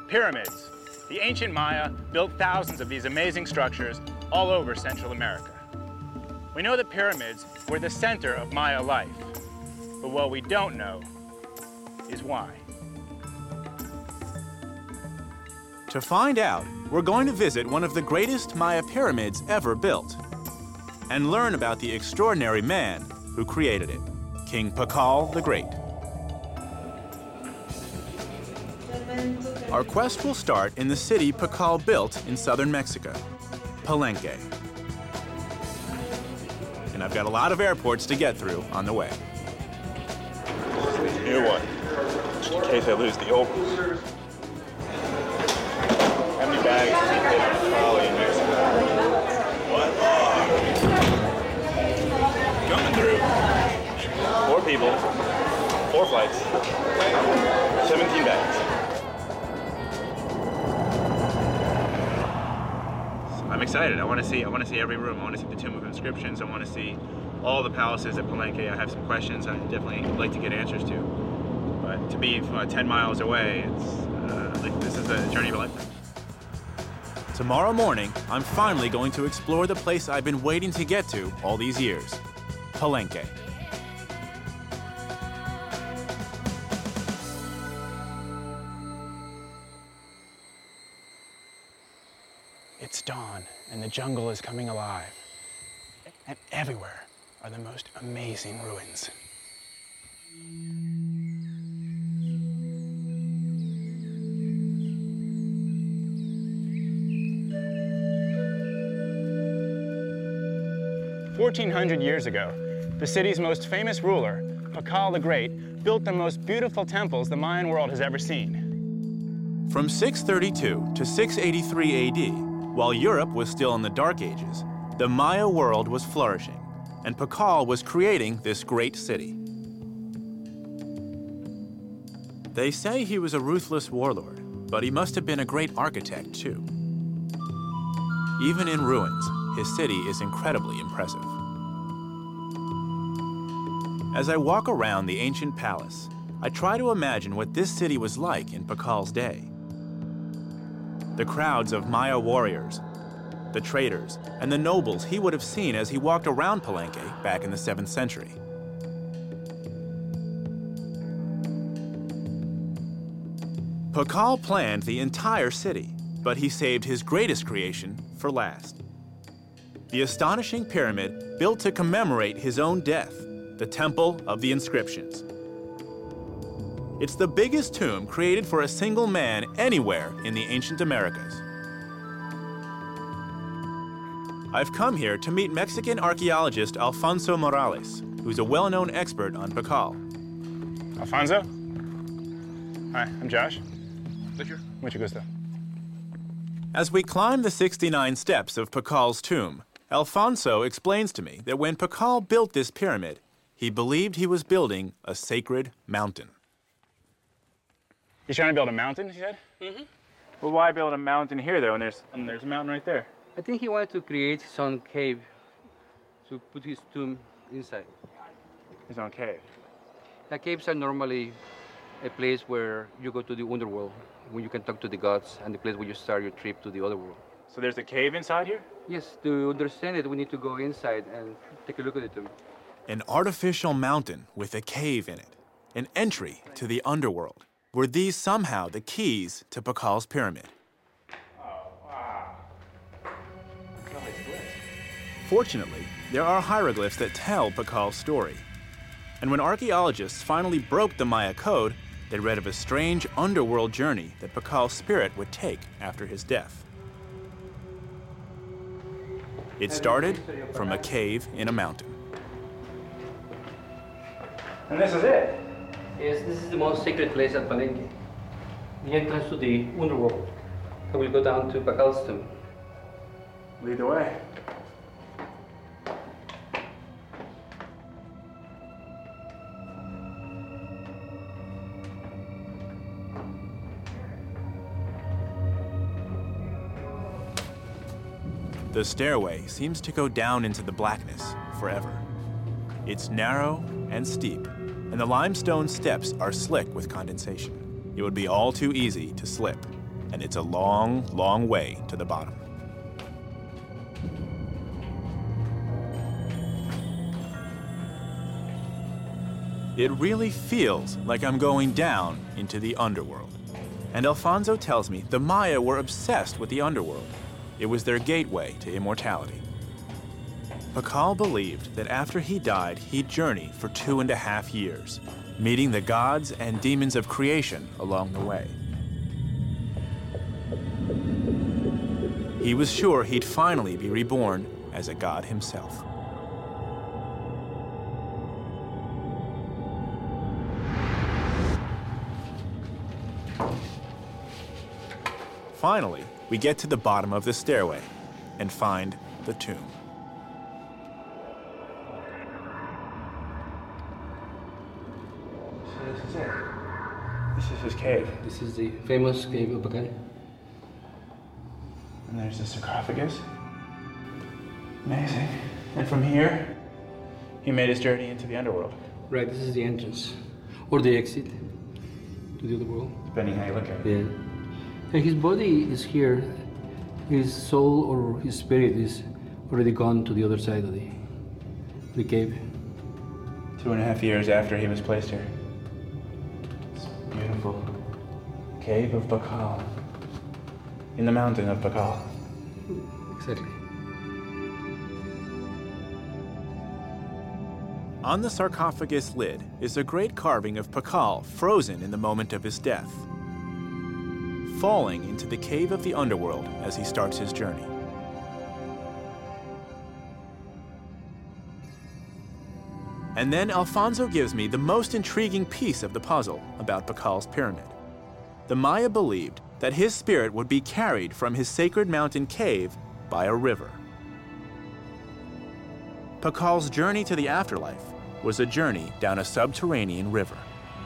Pyramids. The ancient Maya built thousands of these amazing structures all over Central America. We know that pyramids were the center of Maya life, but what we don't know is why. To find out, we're going to visit one of the greatest Maya pyramids ever built and learn about the extraordinary man who created it, King Pakal the Great. Our quest will start in the city Pakal built in southern Mexico, Palenque. And I've got a lot of airports to get through on the way. This is a new one, just in case I lose the old one. How many bags does he fit on a trolley in Mexico? What? Coming through. 4 people, 4 flights, 17 bags. I'm excited. I want to see every room. I want to see the Tomb of Inscriptions. I want to see all the palaces at Palenque. I have some questions I definitely like to get answers to. But to be 10 miles away, it's like this is a journey of a lifetime. Tomorrow morning, I'm finally going to explore the place I've been waiting to get to all these years, Palenque. It's dawn, and the jungle is coming alive. And everywhere are the most amazing ruins. "1,400 years ago, the city's most famous ruler, Pakal the Great, built the most beautiful temples the Mayan world has ever seen." From 632 to 683 AD, while Europe was still in the Dark Ages, the Maya world was flourishing, and Pakal was creating this great city. They say he was a ruthless warlord, but he must have been a great architect too. Even in ruins, his city is incredibly impressive. As I walk around the ancient palace, I try to imagine what this city was like in Pakal's day. The crowds of Maya warriors, the traders, and the nobles he would have seen as he walked around Palenque back in the 7th century. Pakal planned the entire city, but he saved his greatest creation for last. The astonishing pyramid built to commemorate his own death, the Temple of the Inscriptions. It's the biggest tomb created for a single man anywhere in the ancient Americas. I've come here to meet Mexican archaeologist Alfonso Morales, who's a well-known expert on Pakal. Alfonso? Hi, I'm Josh. Pleasure. Mucho gusto. As we climb the 69 steps of Pakal's tomb, Alfonso explains to me that when Pakal built this pyramid, he believed he was building a sacred mountain. You're trying to build a mountain, he said? Mm-hmm. Well, why build a mountain here, though, and there's a mountain right there? I think he wanted to create his own cave to put his tomb inside. His own cave. The caves are normally a place where you go to the underworld, where you can talk to the gods, and the place where you start your trip to the other world. So there's a cave inside here? Yes, to understand it, we need to go inside and take a look at the tomb. An artificial mountain with a cave in it, an entry to the underworld. Were these somehow the keys to Pakal's pyramid? Oh, wow. Fortunately, there are hieroglyphs that tell Pakal's story. And when archaeologists finally broke the Maya code, they read of a strange underworld journey that Pakal's spirit would take after his death. It started from a cave in a mountain. And this is it? Yes, this is the most sacred place at Palenque. The entrance to the underworld. So we'll go down to Pakal's tomb. Lead the way. The stairway seems to go down into the blackness forever. It's narrow and steep, and the limestone steps are slick with condensation. It would be all too easy to slip. and it's a long, long way to the bottom. It really feels like I'm going down into the underworld. And Alfonso tells me the Maya were obsessed with the underworld. It was their gateway to immortality. Pakal believed that after he died, he'd journey for 2.5 years, meeting the gods and demons of creation along the way. He was sure he'd finally be reborn as a god himself. Finally, we get to the bottom of the stairway and find the tomb. So this is it. This is his cave. This is the famous cave of Pakal. And there's the sarcophagus. Amazing. And from here, he made his journey into the underworld. Right, this is the entrance, or the exit to the other world. Depending how you look at it. Yeah. And his body is here. His soul or his spirit is already gone to the other side of the cave. 2.5 years after he was placed here. It's beautiful. Cave of Pakal. In the mountain of Pakal. Exactly. On the sarcophagus lid is a great carving of Pakal frozen in the moment of his death, falling into the cave of the underworld as he starts his journey. And then Alfonso gives me the most intriguing piece of the puzzle about Pakal's pyramid. The Maya believed that his spirit would be carried from his sacred mountain cave by a river. Pakal's journey to the afterlife was a journey down a subterranean river.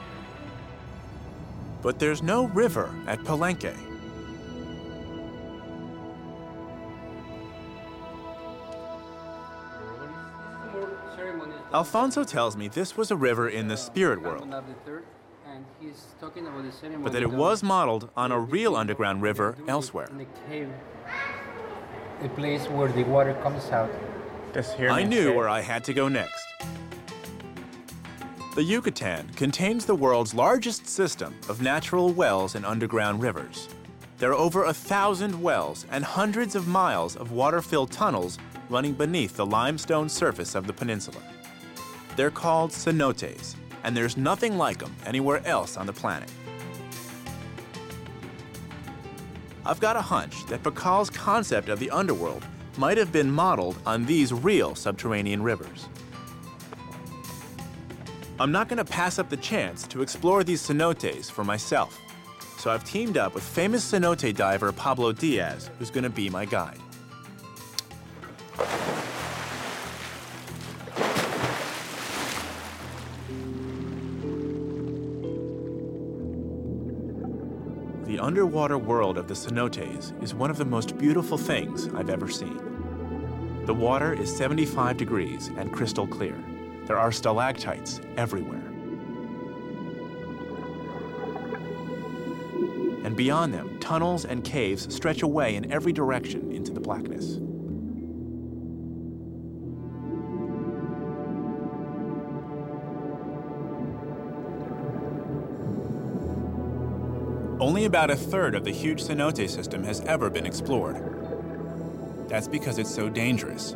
But there's no river at Palenque. Alfonso tells me this was a river in the spirit world, but that it was modeled on a real underground river elsewhere. In the cave, a place where the water comes out. This here I means knew cave. where I had to go next. The Yucatan contains the world's largest system of natural wells and underground rivers. There are over 1,000 wells and hundreds of miles of water-filled tunnels running beneath the limestone surface of the peninsula. They're called cenotes, and there's nothing like them anywhere else on the planet. I've got a hunch that Pakal's concept of the underworld might have been modeled on these real subterranean rivers. I'm not going to pass up the chance to explore these cenotes for myself, so I've teamed up with famous cenote diver Pablo Diaz, who's going to be my guide. The underwater world of the cenotes is one of the most beautiful things I've ever seen. The water is 75 degrees and crystal clear. There are stalactites everywhere. And beyond them, tunnels and caves stretch away in every direction into the blackness. Only about 1/3 of the huge cenote system has ever been explored. That's because it's so dangerous.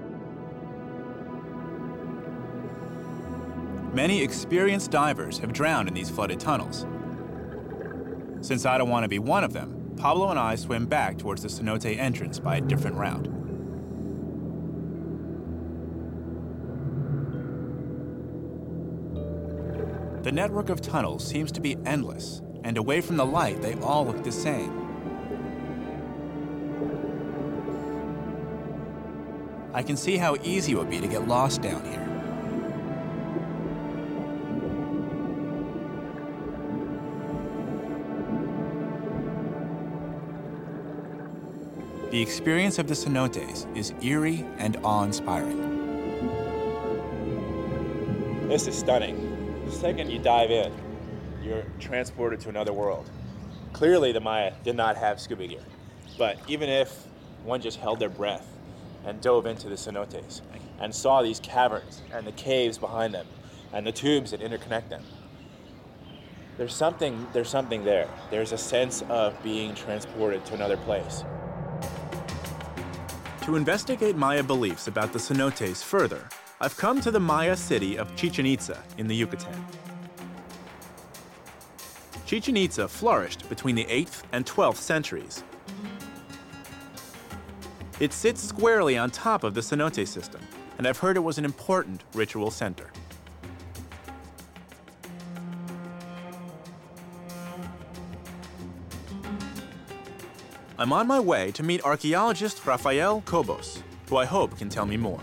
Many experienced divers have drowned in these flooded tunnels. Since I don't want to be one of them, Pablo and I swim back towards the cenote entrance by a different route. The network of tunnels seems to be endless, and away from the light, they all look the same. I can see how easy it would be to get lost down here. The experience of the cenotes is eerie and awe-inspiring. This is stunning. The second you dive in, you're transported to another world. Clearly, the Maya did not have scuba gear. But even if one just held their breath and dove into the cenotes and saw these caverns and the caves behind them and the tubes that interconnect them, there's something there. There's a sense of being transported to another place. To investigate Maya beliefs about the cenotes further, I've come to the Maya city of Chichen Itza in the Yucatan. Chichen Itza flourished between the 8th and 12th centuries. It sits squarely on top of the cenote system, and I've heard it was an important ritual center. I'm on my way to meet archaeologist Rafael Cobos, who I hope can tell me more.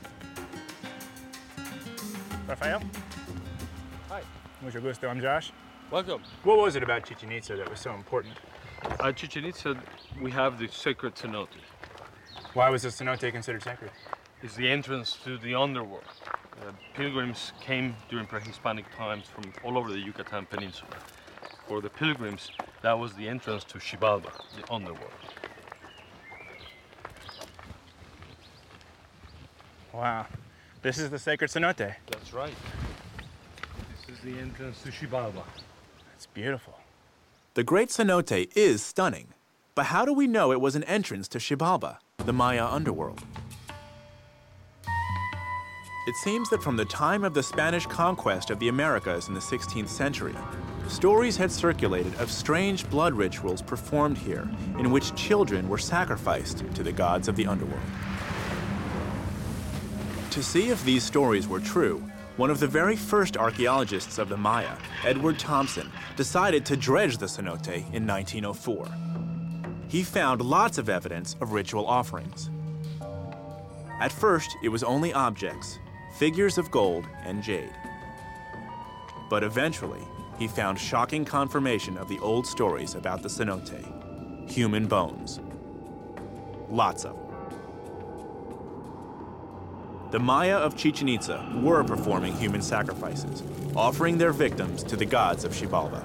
Rafael? Hi. Mucho gusto, I'm Josh. Welcome. What was it about Chichen Itza that was so important? At Chichen Itza, we have the sacred cenote. Why was the cenote considered sacred? It's the entrance to the underworld. Pilgrims came during pre-Hispanic times from all over the Yucatan Peninsula. For the pilgrims, that was the entrance to Xibalba, the underworld. Wow. This is the sacred cenote. That's right. This is the entrance to Xibalba. It's beautiful. The Great Cenote is stunning, but how do we know it was an entrance to Xibalba, the Maya underworld? It seems that from the time of the Spanish conquest of the Americas in the 16th century, stories had circulated of strange blood rituals performed here in which children were sacrificed to the gods of the underworld. To see if these stories were true, one of the very first archaeologists of the Maya, Edward Thompson, decided to dredge the cenote in 1904. He found lots of evidence of ritual offerings. At first, it was only objects, figures of gold and jade. But eventually, he found shocking confirmation of the old stories about the cenote: human bones. Lots of them. The Maya of Chichen Itza were performing human sacrifices, offering their victims to the gods of Xibalba.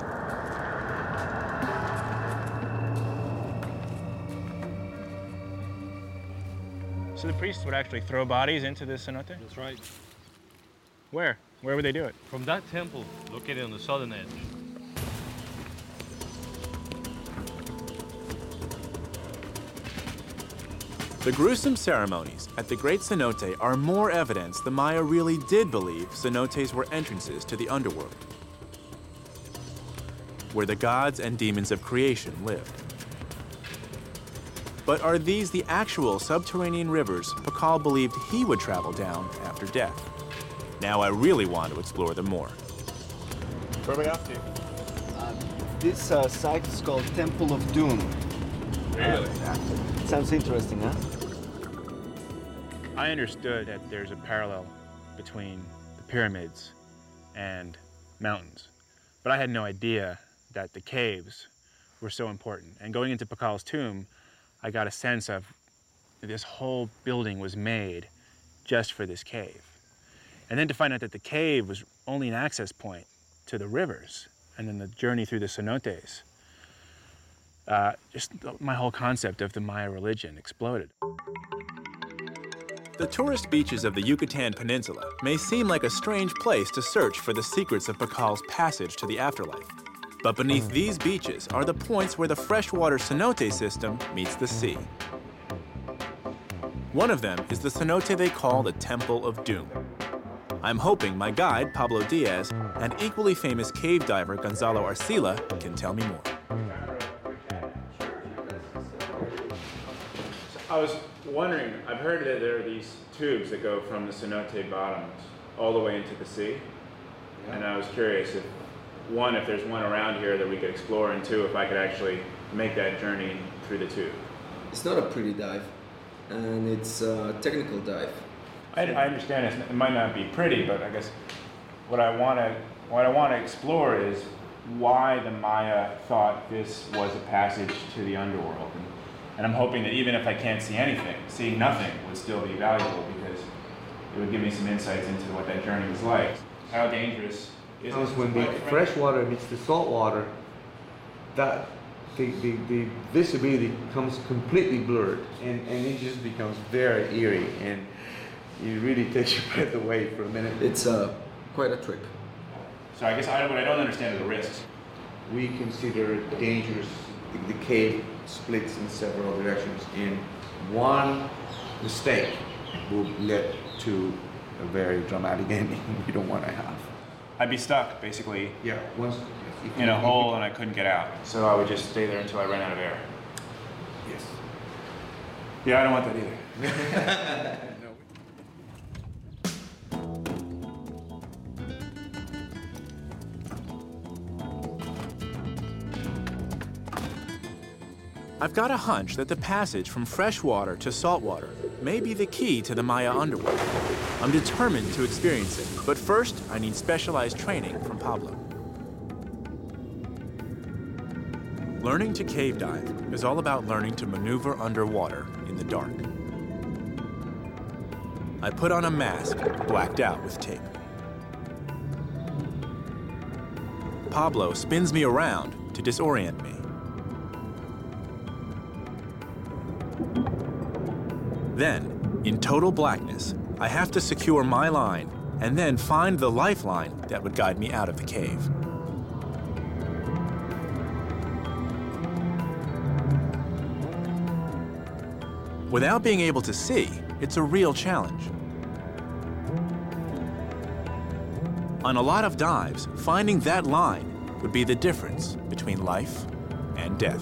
So the priests would actually throw bodies into the cenote? That's right. Where? Where would they do it? From that temple, located on the southern edge, The gruesome ceremonies at the Great Cenote are more evidence the Maya really did believe cenotes were entrances to the underworld, where the gods and demons of creation lived. But are these the actual subterranean rivers Pakal believed he would travel down after death? Now I really want to explore them more. Where are we off to? This site is called Temple of Doom. Really? Sounds interesting, huh? I understood that there's a parallel between the pyramids and mountains, but I had no idea that the caves were so important. And going into Pakal's tomb, I got a sense of this whole building was made just for this cave. And then to find out that the cave was only an access point to the rivers, and then the journey through the cenotes, just my whole concept of the Maya religion exploded. The tourist beaches of the Yucatan Peninsula may seem like a strange place to search for the secrets of Pakal's passage to the afterlife. But beneath these beaches are the points where the freshwater cenote system meets the sea. One of them is the cenote they call the Temple of Doom. I'm hoping my guide, Pablo Diaz, and equally famous cave diver Gonzalo Arcila can tell me more. I was wondering, I've heard that there are these tubes that go from the cenote bottoms all the way into the sea. Yeah. And I was curious if there's one around here that we could explore, and two, if I could actually make that journey through the tube. It's not a pretty dive, and it's a technical dive. I understand it might not be pretty, but I guess what I want to explore is why the Maya thought this was a passage to the underworld. And I'm hoping that even if I can't see anything, seeing nothing would still be valuable, because it would give me some insights into what that journey was like. How dangerous is it? When the fresh water meets the salt water, that the visibility becomes completely blurred, and it just becomes very eerie, and it really takes your breath away for a minute. It's quite a trip. So I guess what I don't understand are the risks. We consider it dangerous. The cave splits in several directions, and one mistake will lead to a very dramatic ending we don't want to have. I'd be stuck, basically, Yeah, in a hole and I couldn't get out. So I would just stay there until I ran out of air. Yes. Yeah, I don't want that either. I've got a hunch that the passage from freshwater to saltwater may be the key to the Maya underworld. I'm determined to experience it, but first I need specialized training from Pablo. Learning to cave dive is all about learning to maneuver underwater in the dark. I put on a mask blacked out with tape. Pablo spins me around to disorient me. Then, in total blackness, I have to secure my line and then find the lifeline that would guide me out of the cave. Without being able to see, it's a real challenge. On a lot of dives, finding that line would be the difference between life and death.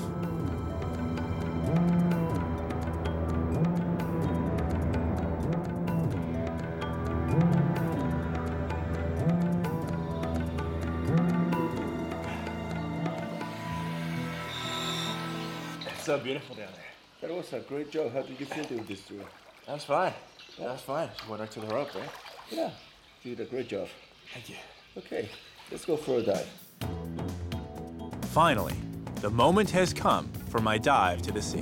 It's so beautiful down there. That was a great job. How did you feel doing this tour? That was fine. That was fine. Just went right to the rope, right? Yeah, you did a great job. Thank you. Okay, let's go for a dive. Finally, the moment has come for my dive to the sea.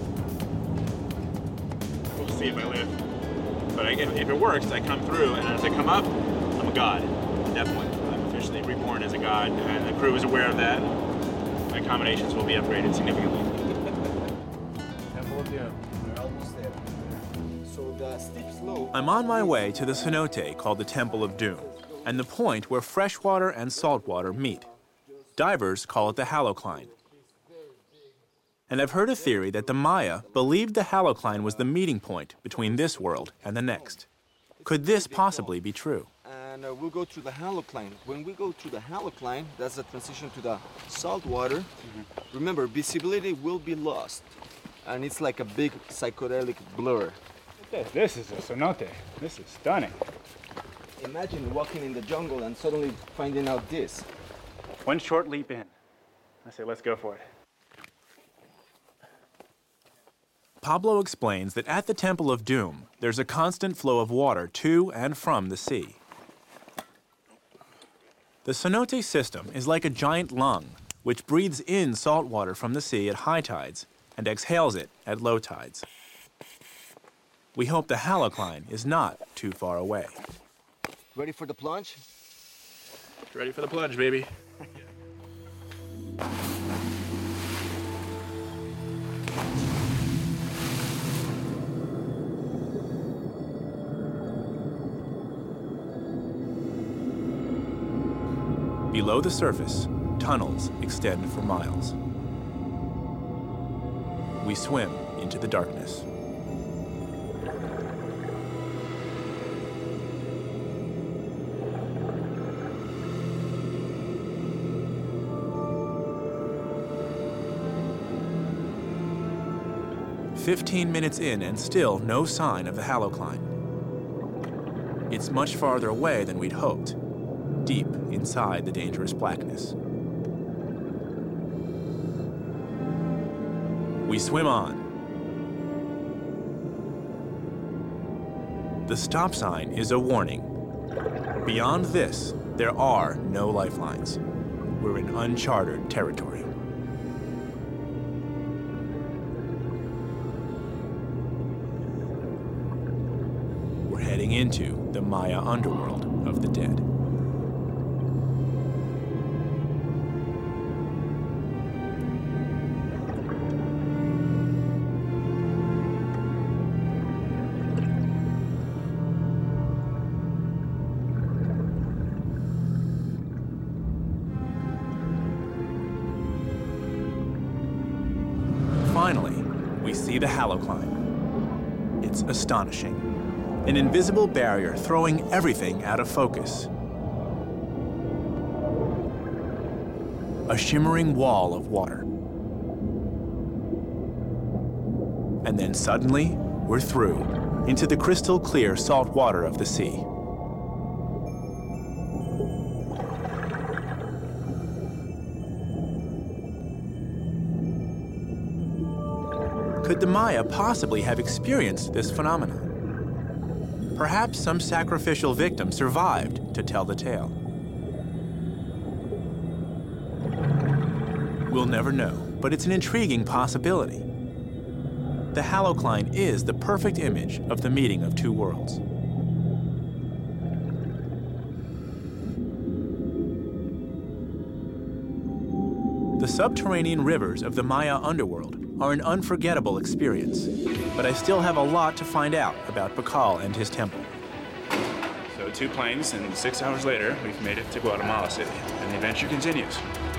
We'll see if I live. But if it works, I come through, and as I come up, I'm a god. Definitely. I'm officially reborn as a god, and the crew is aware of that. My accommodations will be upgraded significantly. Temple of Doom. We're almost there. So the steep slope. I'm on my way to the cenote called the Temple of Doom, and the point where freshwater and saltwater meet. Divers call it the halocline. And I've heard a theory that the Maya believed the halocline was the meeting point between this world and the next. Could this possibly be true? And we'll go through the halocline. When we go through the halocline, that's the transition to the salt water. Remember, visibility will be lost. And it's like a big psychedelic blur. This is a cenote. This is stunning. Imagine walking in the jungle and suddenly finding out this. One short leap in. I say, let's go for it. Pablo explains that at the Temple of Doom, there's a constant flow of water to and from the sea. The cenote system is like a giant lung, which breathes in salt water from the sea at high tides and exhales it at low tides. We hope the halocline is not too far away. Ready for the plunge? Ready for the plunge, baby. Below the surface, tunnels extend for miles. We swim into the darkness. "15 minutes in and still no sign of the halocline. It's much farther away than we'd hoped, deep inside the dangerous blackness. We swim on. The stop sign is a warning. Beyond this, there are no lifelines. We're in uncharted territory. We're heading into the Maya underworld of the dead. finally, we see the halocline. It's astonishing. An invisible barrier throwing everything out of focus. A shimmering wall of water. And then suddenly, we're through, into the crystal clear salt water of the sea. Could the Maya possibly have experienced this phenomenon? Perhaps some sacrificial victim survived to tell the tale. We'll never know, but it's an intriguing possibility. The halocline is the perfect image of the meeting of two worlds. The subterranean rivers of the Maya underworld are an unforgettable experience, but I still have a lot to find out about Pakal and his temple. So 2 planes, and 6 hours later, we've made it to Guatemala City, and the adventure continues.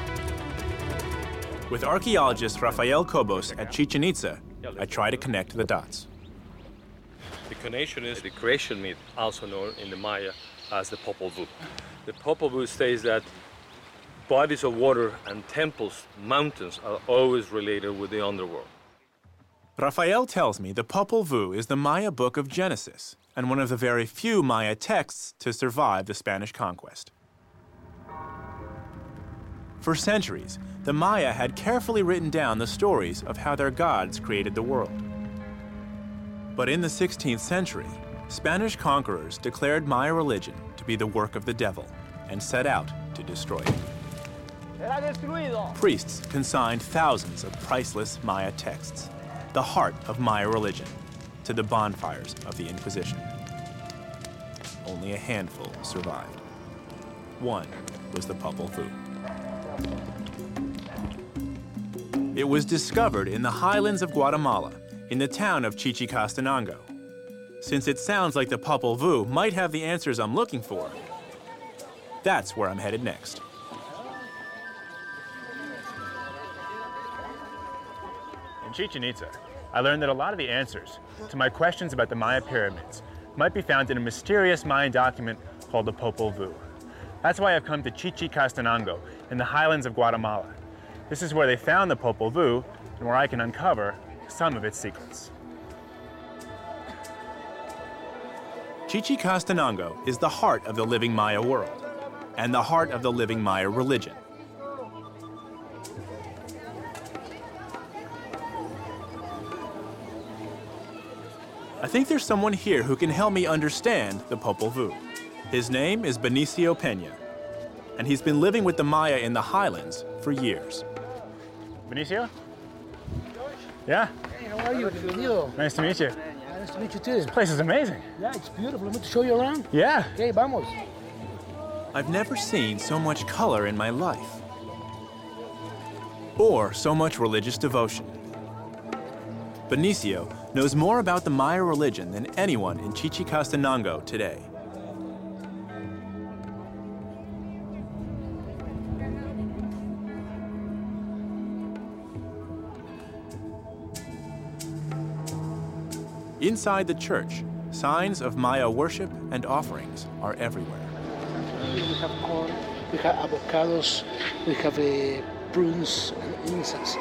With archaeologist Rafael Cobos at Chichen Itza, I try to connect the dots. The connection is the creation myth, also known in the Maya as the Popol Vuh. The Popol Vuh states that bodies of water and temples, mountains, are always related with the underworld. Rafael tells me the Popol Vuh is the Maya book of Genesis and one of the very few Maya texts to survive the Spanish conquest. For centuries, the Maya had carefully written down the stories of how their gods created the world. But in the 16th century, Spanish conquerors declared Maya religion to be the work of the devil and set out to destroy it. Priests consigned thousands of priceless Maya texts, the heart of Maya religion, to the bonfires of the Inquisition. Only a handful survived. One was the Popol Vuh. It was discovered in the highlands of Guatemala, in the town of Chichicastenango. Since it sounds like the Popol Vuh might have the answers I'm looking for, that's where I'm headed next. In Chichen Itza, I learned that a lot of the answers to my questions about the Maya pyramids might be found in a mysterious Mayan document called the Popol Vuh. That's why I've come to Chichicastenango in the highlands of Guatemala. This is where they found the Popol Vuh and where I can uncover some of its secrets. Chichicastenango is the heart of the living Maya world and the heart of the living Maya religion. I think there's someone here who can help me understand the Popol Vuh. His name is Benicio Peña, and he's been living with the Maya in the highlands for years. Benicio? Yeah? Hey, how are you? Bienvenido. Nice to meet you. Nice to meet you too. This place is amazing. Yeah, it's beautiful. Let me show you around. Yeah. Okay, vamos. I've never seen so much color in my life, or so much religious devotion. Benicio knows more about the Maya religion than anyone in Chichicastenango today. Inside the church, signs of Maya worship and offerings are everywhere. We have corn, we have avocados, we have prunes and incense.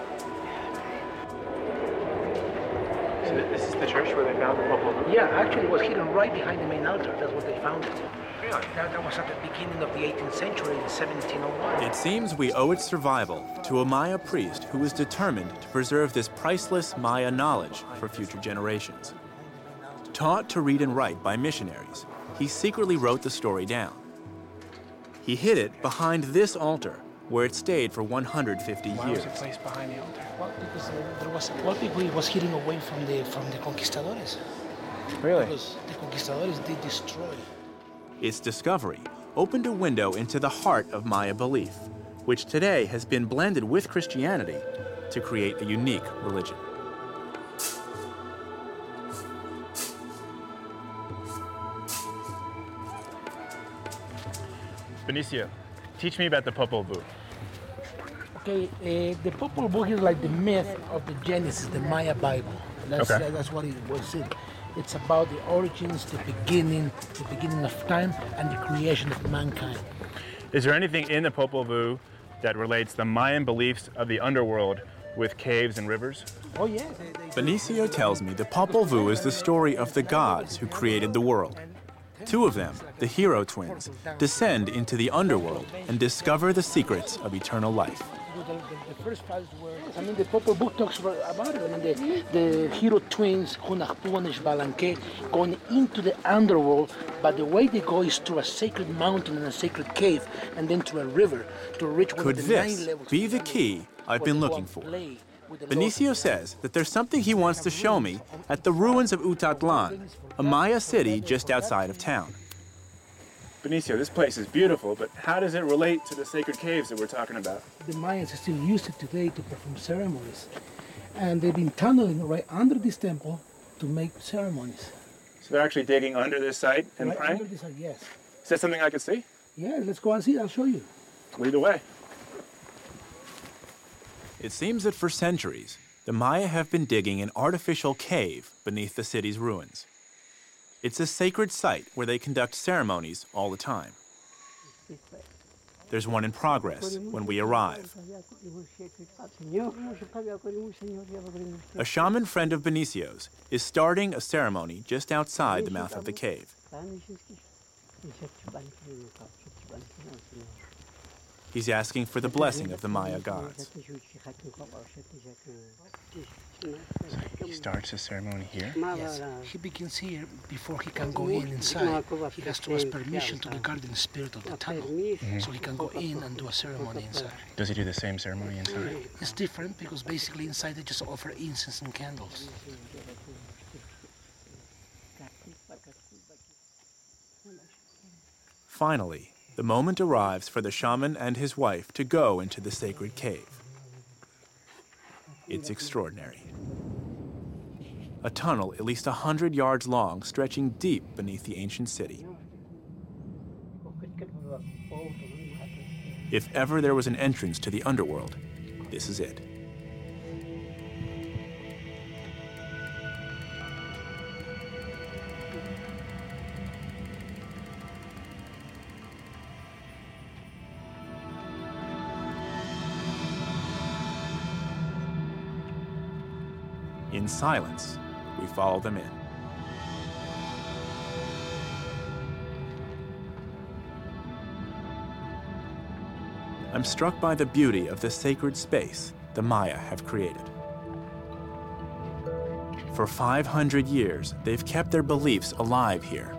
This is the church where they found the Popol Vuh? Yeah, actually it was hidden right behind the main altar. That's where they found it. Really? That was at the beginning of the 18th century in 1701. It seems we owe its survival to a Maya priest who was determined to preserve this priceless Maya knowledge for future generations. Taught to read and write by missionaries, he secretly wrote the story down. He hid it behind this altar, where it stayed for 150 years. Why was it placed behind the altar? Well, because there was a lot of people it was hidden away from the conquistadores. Really? Because the conquistadores did destroy. Its discovery opened a window into the heart of Maya belief, which today has been blended with Christianity to create a unique religion. Benicio, teach me about the Popol Vuh. Okay, the Popol Vuh is like the myth of the Genesis, the Maya Bible. That's what it was. It's about the origins, the beginning of time, and the creation of mankind. Is there anything in the Popol Vuh that relates the Mayan beliefs of the underworld with caves and rivers? Oh yeah. Benicio tells me the Popol Vuh is the story of the gods who created the world. Two of them, the hero twins, descend into the underworld and discover the secrets of eternal life. The first files were, the Popol Vuh talks about it. The hero twins, Hunahpu and Xbalanque, going into the underworld, but the way they go is through a sacred mountain and a sacred cave, and then through a river to reach one Could of the 9 this levels. be the key I've been looking for? Benicio says that there's something he wants to show me at the ruins of Utatlan, a Maya city just outside of town. Benicio, this place is beautiful, but how does it relate to the sacred caves that we're talking about? The Mayans still use it today to perform ceremonies. And they've been tunneling right under this temple to make ceremonies. So they're actually digging under this site and Right praying? under this, yes. Is that something I could see? Yeah, let's go and see. I'll show you. Lead the way. It seems that for centuries, the Maya have been digging an artificial cave beneath the city's ruins. It's a sacred site where they conduct ceremonies all the time. There's one in progress when we arrive. A shaman friend of Benicio's is starting a ceremony just outside the mouth of the cave. He's asking for the blessing of the Maya gods. He starts the ceremony here? Yes, he begins here before he can go inside. He has to ask permission to the guardian spirit of the tunnel, so he can go in and do a ceremony inside. Does he do the same ceremony inside? It's different because basically inside they just offer incense and candles. Finally, the moment arrives for the shaman and his wife to go into the sacred cave. It's extraordinary. A tunnel at least 100 yards long, stretching deep beneath the ancient city. If ever there was an entrance to the underworld, this is it. In silence, we follow them in. I'm struck by the beauty of the sacred space the Maya have created. For 500 years, they've kept their beliefs alive here.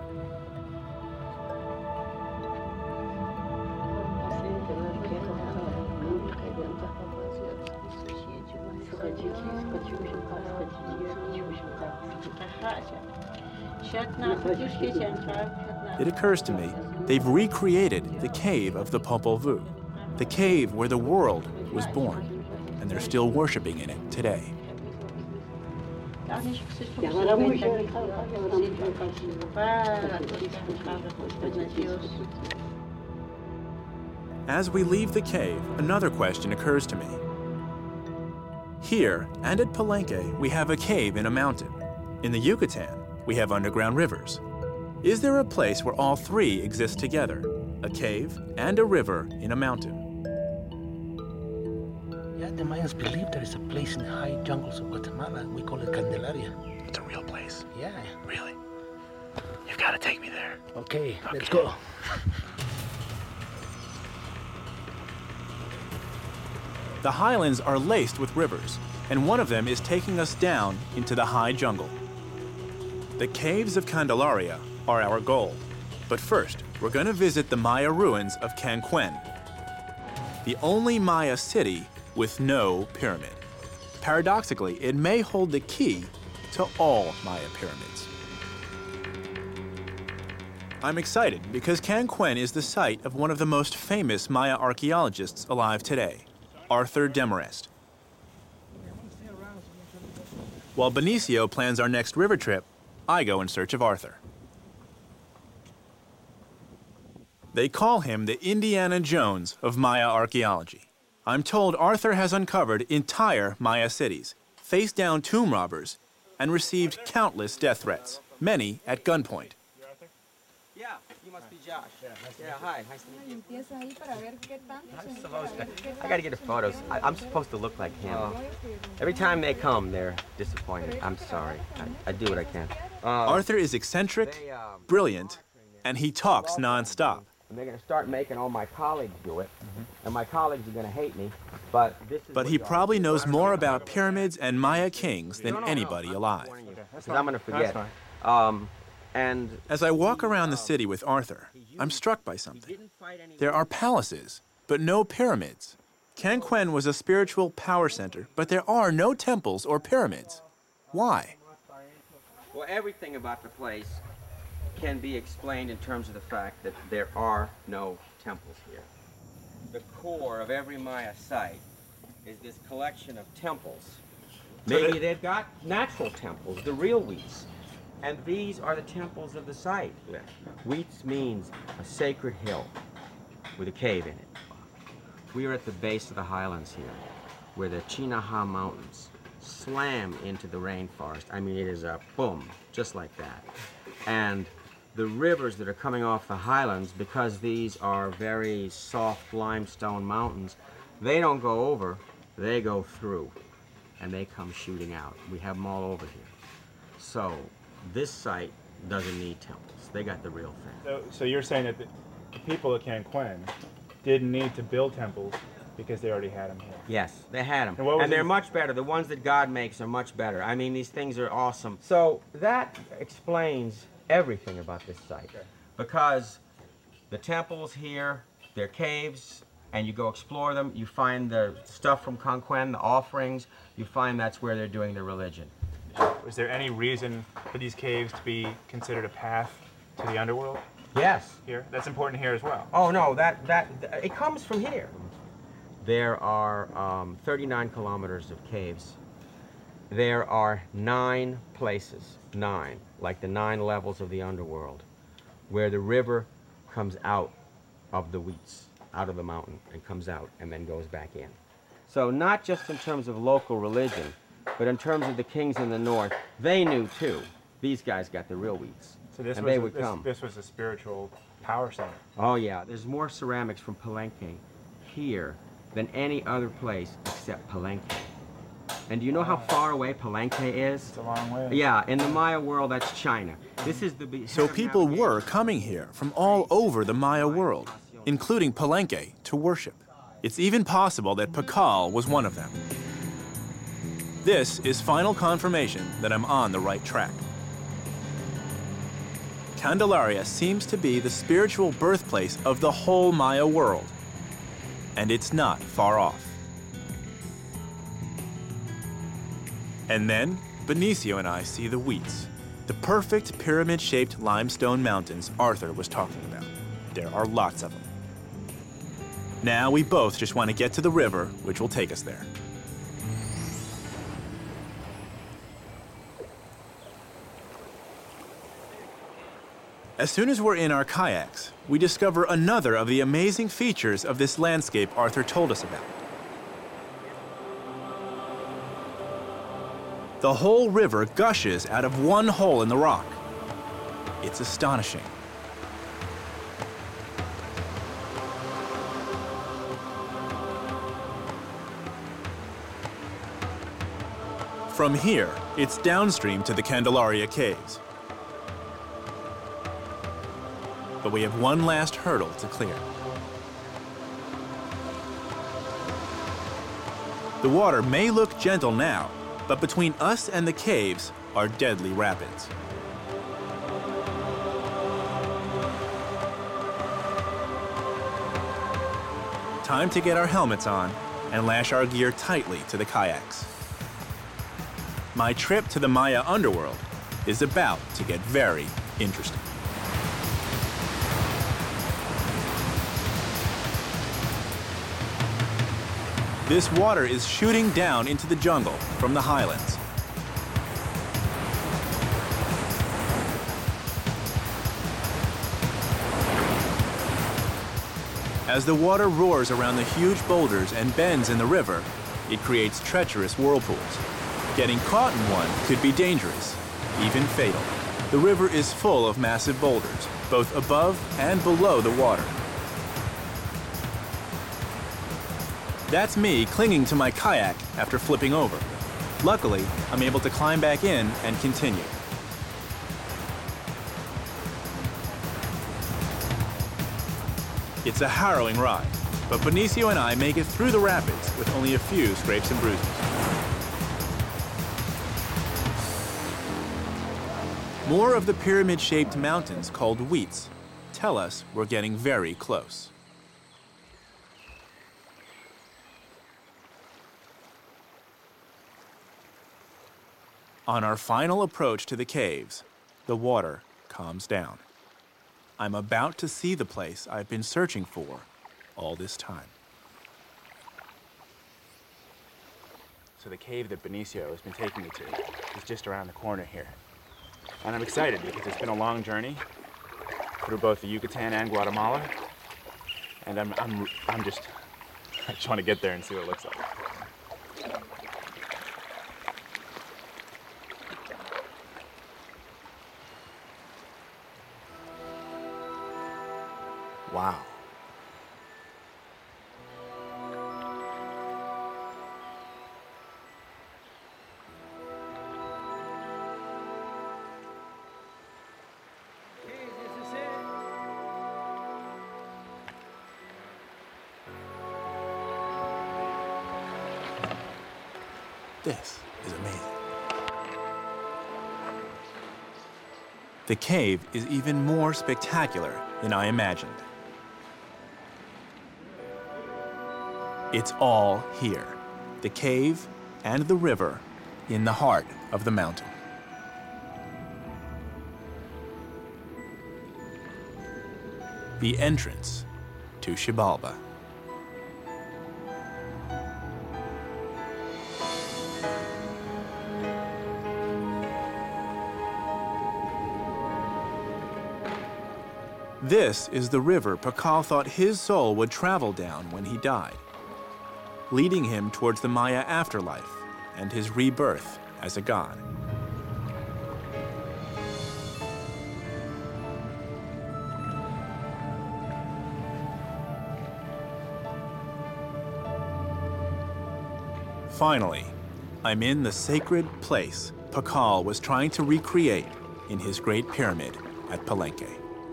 It occurs to me, they've recreated the cave of the Popol Vuh, the cave where the world was born, and they're still worshiping in it today. As we leave the cave, another question occurs to me. Here, and at Palenque, we have a cave in a mountain. In the Yucatan, we have underground rivers. Is there a place where all three exist together? A cave and a river in a mountain? Yeah, the Mayans believe there is a place in the high jungles of Guatemala. We call it Candelaria. It's a real place. Yeah. Really? You've got to take me there. Okay, let's go. The highlands are laced with rivers, and one of them is taking us down into the high jungle. The caves of Candelaria are our goal. But first, we're going to visit the Maya ruins of Cancuén, the only Maya city with no pyramid. Paradoxically, it may hold the key to all Maya pyramids. I'm excited because Cancuén is the site of one of the most famous Maya archaeologists alive today, Arthur Demarest. While Benicio plans our next river trip, I go in search of Arthur. They call him the Indiana Jones of Maya archaeology. I'm told Arthur has uncovered entire Maya cities, faced down tomb robbers, and received countless death threats, many at gunpoint. Yeah, you must be Josh. Yeah, hi. Nice to meet you. I gotta get the photos. I'm supposed to look like him. Every time they come, they're disappointed. I'm sorry. I do what I can. Arthur is eccentric, brilliant, and he talks nonstop. And they're gonna start making all my colleagues do it, and my colleagues are gonna hate me. But But he probably knows more about pyramids and Maya kings than anybody alive. Because I'm gonna forget. And as I walk around the city with Arthur, I'm struck by something. There are palaces, but no pyramids. Kanquen was a spiritual power center, but there are no temples or pyramids. Why? Well, everything about the place can be explained in terms of the fact that there are no temples here. The core of every Maya site is this collection of temples. Maybe they've got natural temples, the real Huitz. And these are the temples of the site. Huitz means a sacred hill with a cave in it. We are at the base of the highlands here, where the Chinaha Mountains slam into the rainforest. I mean, it is a boom, just like that. And the rivers that are coming off the highlands, because these are very soft limestone mountains, they don't go over, they go through, and they come shooting out. We have them all over here. So this site doesn't need temples. They got the real thing. So you're saying that the people at Kanquen didn't need to build temples because they already had them here? Yes, they had them. And they're much better. The ones that God makes are much better. I mean, these things are awesome. So that explains everything about this site. Okay. Because the temples here, they're caves, and you go explore them, you find the stuff from Kanquen, the offerings, you find that's where they're doing their religion. Was there any reason for these caves to be considered a path to the underworld? Yes. Here? That's important here as well. Oh, no, it comes from here. There are 39 kilometers of caves. There are 9 places, 9, like the 9 levels of the underworld, where the river comes out of the Huitz, out of the mountain, and comes out and then goes back in. So not just in terms of local religion, but in terms of the kings in the north, they knew too. These guys got the real Huitz, and they would come. This was a spiritual power center. Oh yeah, there's more ceramics from Palenque here than any other place except Palenque. And do you know how far away Palenque is? It's a long way. Yeah, in the Maya world, that's China. This is the... So people were coming here from all over the Maya world, including Palenque, to worship. It's even possible that Pakal was one of them. This is final confirmation that I'm on the right track. Candelaria seems to be the spiritual birthplace of the whole Maya world, and it's not far off. And then, Benicio and I see the Huitz, the perfect pyramid-shaped limestone mountains Arthur was talking about. There are lots of them. Now we both just want to get to the river, which will take us there. As soon as we're in our kayaks, we discover another of the amazing features of this landscape Arthur told us about. The whole river gushes out of one hole in the rock. It's astonishing. From here, it's downstream to the Candelaria Caves. But we have one last hurdle to clear. The water may look gentle now, but between us and the caves are deadly rapids. Time to get our helmets on and lash our gear tightly to the kayaks. My trip to the Maya underworld is about to get very interesting. This water is shooting down into the jungle from the highlands. As the water roars around the huge boulders and bends in the river, it creates treacherous whirlpools. Getting caught in one could be dangerous, even fatal. The river is full of massive boulders, both above and below the water. That's me clinging to my kayak after flipping over. Luckily, I'm able to climb back in and continue. It's a harrowing ride, but Benicio and I make it through the rapids with only a few scrapes and bruises. More of the pyramid-shaped mountains called Huitz tell us we're getting very close. On our final approach to the caves, the water calms down. I'm about to see the place I've been searching for all this time. So the cave that Benicio has been taking me to is just around the corner here. And I'm excited because it's been a long journey through both the Yucatan and Guatemala. And I just want to get there and see what it looks like. Wow. This is amazing. The cave is even more spectacular than I imagined. It's all here, the cave and the river in the heart of the mountain. The entrance to Xibalba. This is the river Pakal thought his soul would travel down when he died, leading him towards the Maya afterlife and his rebirth as a god. Finally, I'm in the sacred place Pakal was trying to recreate in his Great Pyramid at Palenque.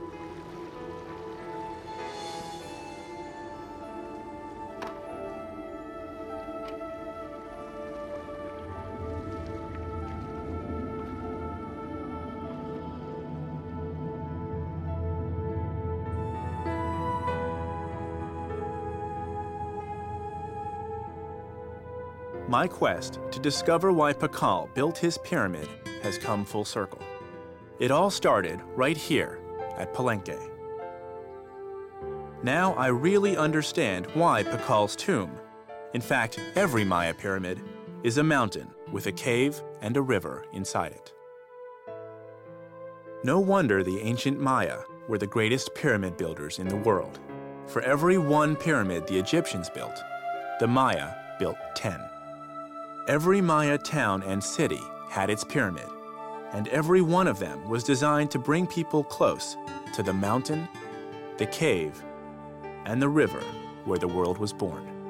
My quest to discover why Pakal built his pyramid has come full circle. It all started right here at Palenque. Now I really understand why Pakal's tomb, in fact every Maya pyramid, is a mountain with a cave and a river inside it. No wonder the ancient Maya were the greatest pyramid builders in the world. For every one pyramid the Egyptians built, the Maya built 10. Every Maya town and city had its pyramid, and every one of them was designed to bring people close to the mountain, the cave, and the river where the world was born.